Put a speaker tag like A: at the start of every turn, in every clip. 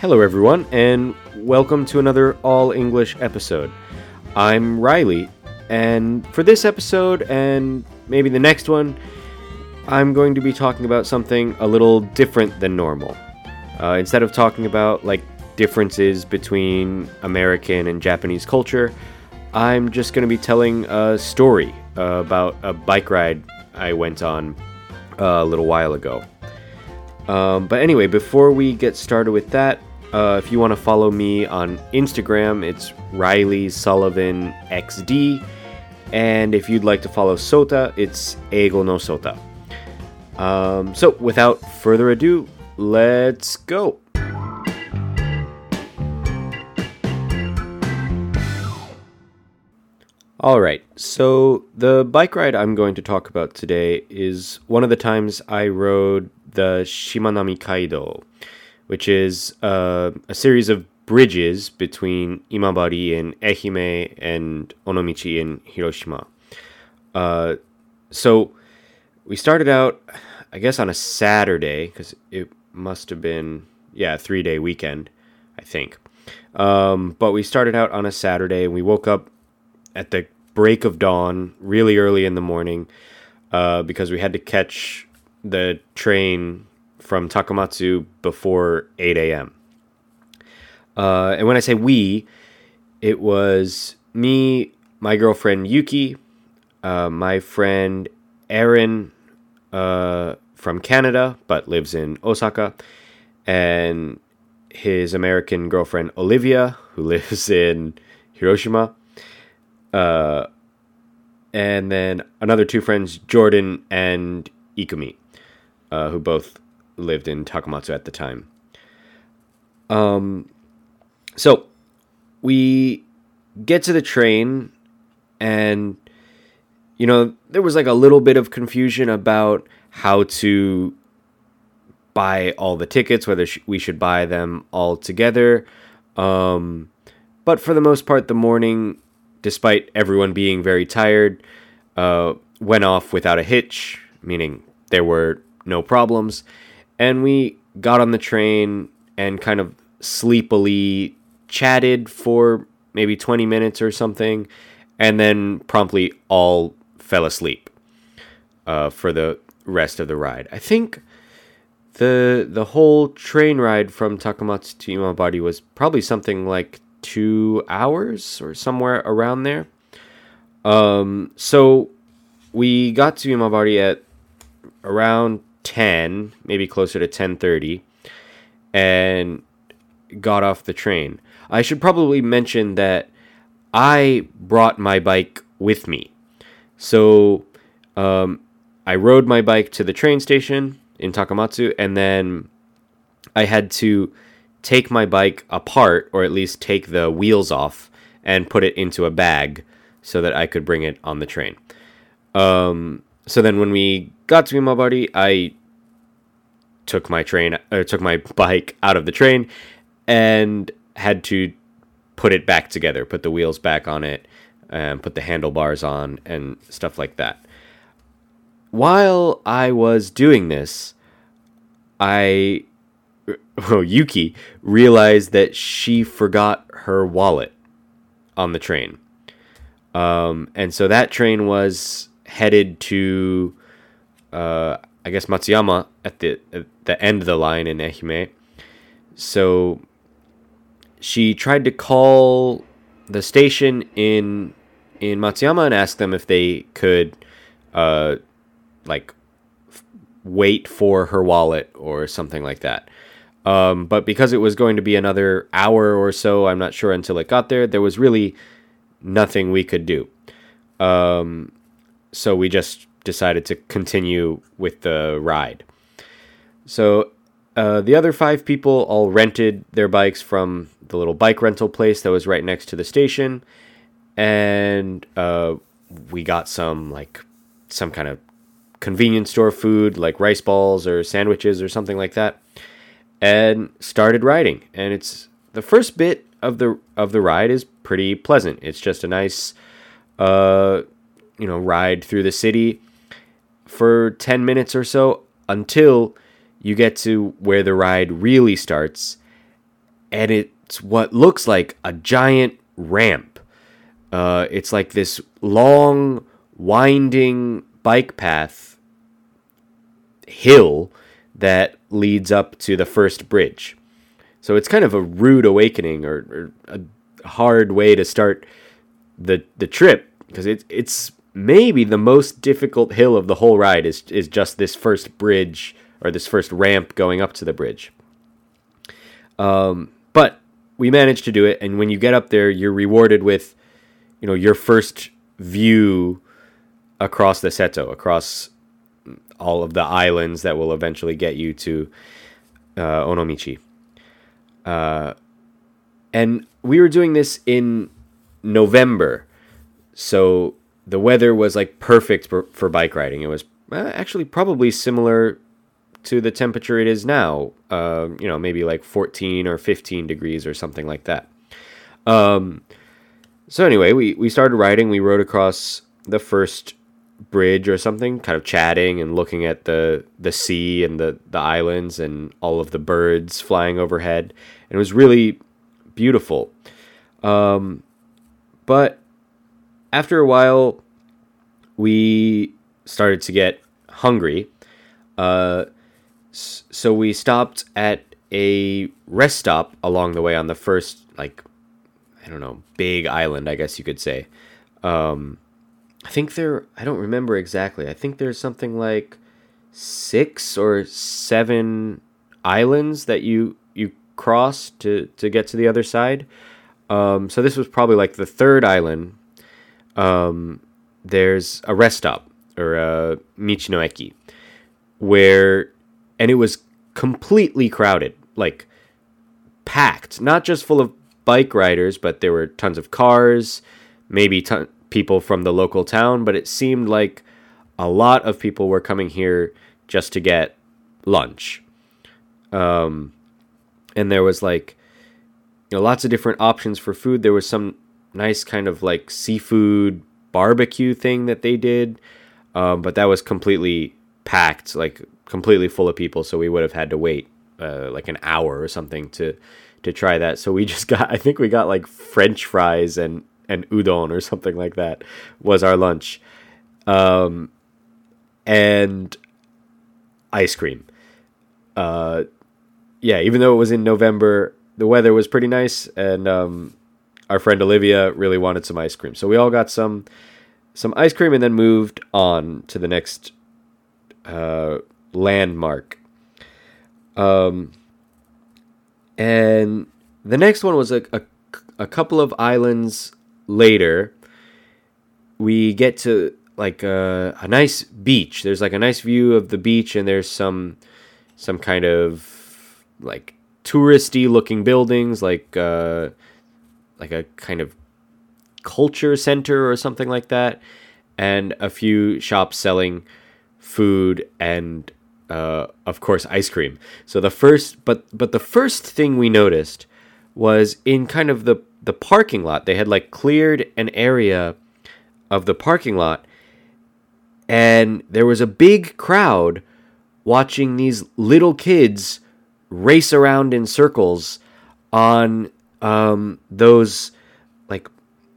A: Hello, everyone, and welcome to another All English episode. I'm Riley, and for this episode and maybe the next one, I'm going to be talking about something a little different than normal. Instead of talking about differences between American and Japanese culture, I'm just going to be telling a story about a bike ride I went on a little while ago. But anyway, before we get started with that, if you want to follow me on Instagram, it's Riley Sullivan XD. And if you'd like to follow Sota, it's Eigo no Sota. So without further ado, let's go. Alright, so the bike ride I'm going to talk about today is one of the times I rode the Shimanami Kaido, which is a series of bridges between Imabari in Ehime and Onomichi in Hiroshima. So we started out, I guess, on a Saturday, because it must have been, a 3-day weekend, I think. But we started out on a Saturday, and we woke up at the break of dawn, really early in the morning, because we had to catch the train from Takamatsu before 8 a.m. And when I say we, it was me, my girlfriend Yuki, my friend Aaron from Canada but lives in Osaka, and his American girlfriend Olivia, who lives in Hiroshima, and then another two friends, Jordan and Ikumi, who both lived in Takamatsu at the time. So we get to the train, and there was a little bit of confusion about how to buy all the tickets, whether we should buy them all together. But for the most part, the morning, despite everyone being very tired, went off without a hitch, meaning there were no problems. And we got on the train and kind of sleepily chatted for maybe 20 minutes or something, and then promptly all fell asleep for the rest of the ride. I think the whole train ride from Takamatsu to Imabari was probably something like 2 hours or somewhere around there. So we got to Imabari at around 10, maybe closer to 10:30, and got off the train. I should probably mention that I brought my bike with me. So I rode my bike to the train station in Takamatsu, and then I had to take my bike apart, or at least take the wheels off, and put it into a bag so that I could bring it on the train. So then when we got to Imabari, I took my bike out of the train and had to put it back together, put the wheels back on it, and put the handlebars on and stuff like that. While I was doing this, Yuki realized that she forgot her wallet on the train. And so that train was headed to, I guess, Matsuyama at the end of the line in Ehime. So she tried to call the station in Matsuyama and ask them if they could, wait for her wallet or something like that. But because it was going to be another hour or so, I'm not sure, until it got there, there was really nothing we could do. So we just decided to continue with the ride. So the other 5 people all rented their bikes from the little bike rental place that was right next to the station, and we got some kind of convenience store food, like rice balls or sandwiches or something like that, and started riding. And it's the first bit of the ride is pretty pleasant. It's just a nice ride through the city for 10 minutes or so, until you get to where the ride really starts, and it's what looks like a giant ramp. It's like this long, winding bike path hill that leads up to the first bridge. So it's kind of a rude awakening, or a hard way to start the trip, because it's maybe the most difficult hill of the whole ride is just this first bridge, or this first ramp going up to the bridge. But we managed to do it, and when you get up there, you're rewarded with, your first view across the Seto, across all of the islands that will eventually get you to Onomichi. And we were doing this in November, so the weather was like perfect for bike riding. It was actually probably similar to the temperature it is now, maybe like 14 or 15 degrees or something like that. So anyway, we started riding. We rode across the first bridge or something, kind of chatting and looking at the sea and the islands and all of the birds flying overhead. And it was really beautiful. But after a while, we started to get hungry. So we stopped at a rest stop along the way on the first, big island, I guess you could say. I don't remember exactly. I think there's something like 6 or 7 islands that you cross to get to the other side. So this was probably like the third island. There's a rest stop, or a Michino Eki, and it was completely crowded, like packed, not just full of bike riders, but there were tons of cars, maybe people from the local town, but it seemed like a lot of people were coming here just to get lunch. And there was lots of different options for food. There was some nice kind of like seafood barbecue thing that they did, but that was completely packed, like completely full of people, so we would have had to wait like an hour or something to try that. So we just got, I think we got like French fries and udon or something like that was our lunch. And ice cream. Even though it was in November, the weather was pretty nice, and our friend Olivia really wanted some ice cream. So we all got some ice cream and then moved on to the next landmark. And the next one was a couple of islands later. We get to like a nice beach. There's like a nice view of the beach, and there's some kind of like touristy looking buildings, like a kind of culture center or something like that, and a few shops selling food and of course ice cream. So the first thing we noticed was in kind of the parking lot. They had like cleared an area of the parking lot, and there was a big crowd watching these little kids race around in circles on those like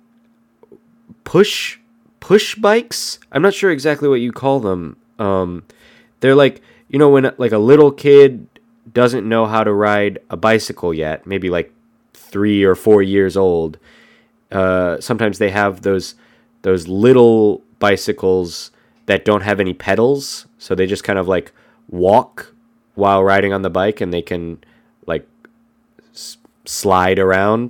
A: push bikes. I'm not sure exactly what you call them. They're like, when like a little kid doesn't know how to ride a bicycle yet, maybe like 3 or 4 years old. Sometimes they have those little bicycles that don't have any pedals, so they just kind of like walk while riding on the bike, and they can like slide around.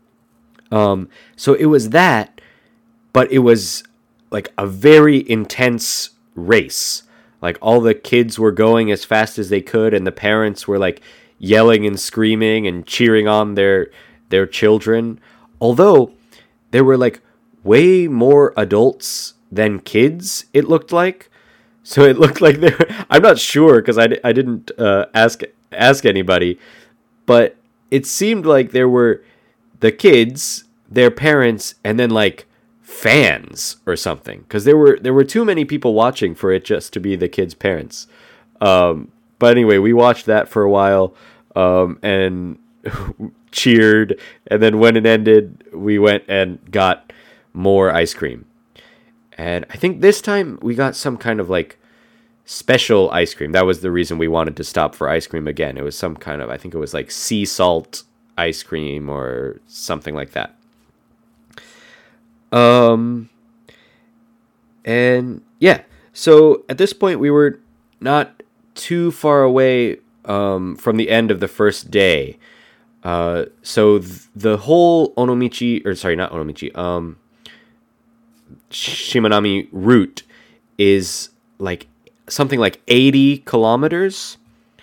A: So it was that, but it was like a very intense race. Like all the kids were going as fast as they could, and the parents were like yelling and screaming and cheering on their children. Although there were like way more adults than kids, it looked like. So it looked like they were, I'm not sure because I didn't ask anybody, but it seemed like there were the kids, their parents, and then like fans or something, because there were too many people watching for it just to be the kids' parents. But anyway, we watched that for a while, and cheered, and then when it ended, we went and got more ice cream. And I think this time we got some kind of like special ice cream. That was the reason we wanted to stop for ice cream again. It was some kind of, I think it was like sea salt ice cream or something like that. And yeah, so at this point we were not too far away from the end of the first day. So the whole Onomichi, or sorry, not Onomichi, Shimanami route is like something like 80 kilometers.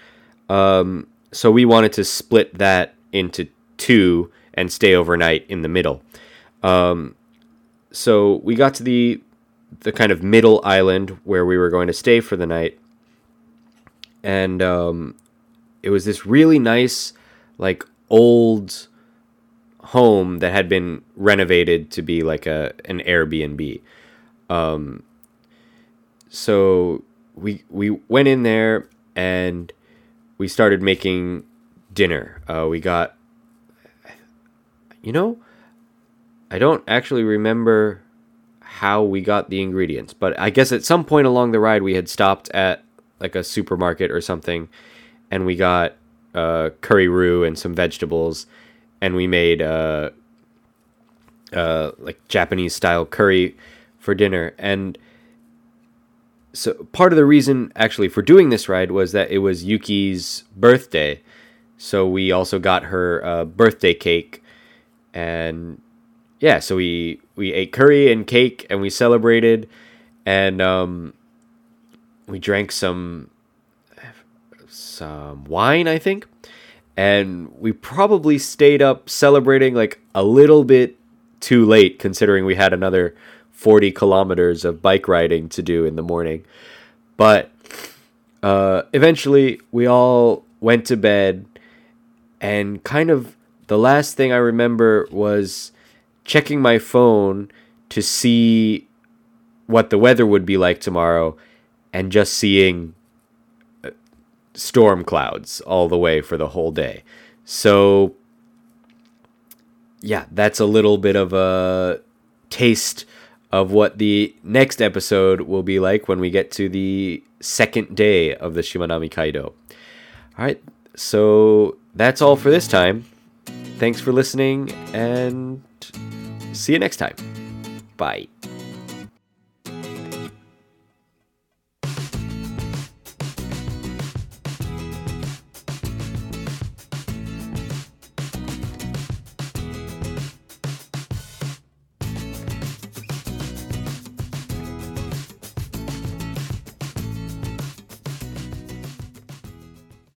A: So we wanted to split that into two and stay overnight in the middle. So we got to the kind of middle island where we were going to stay for the night. And it was this really nice, like, old home that had been renovated to be like an Airbnb. So we went in there and we started making dinner. We got, I don't actually remember how we got the ingredients, but I guess at some point along the ride we had stopped at like a supermarket or something, and we got curry roux and some vegetables, and we made like Japanese style curry for dinner. And so part of the reason actually for doing this ride was that it was Yuki's birthday, so we also got her birthday cake. And yeah, so we ate curry and cake and we celebrated, and we drank some wine, I think, and we probably stayed up celebrating like a little bit too late, considering we had another 40 kilometers of bike riding to do in the morning. But eventually we all went to bed, and kind of the last thing I remember was checking my phone to see what the weather would be like tomorrow, and just seeing storm clouds all the way for the whole day. So yeah, that's a little bit of a taste of what the next episode will be like when we get to the second day of the Shimanami Kaido. All right, so that's all for this time. Thanks for listening, and see you next time. Bye.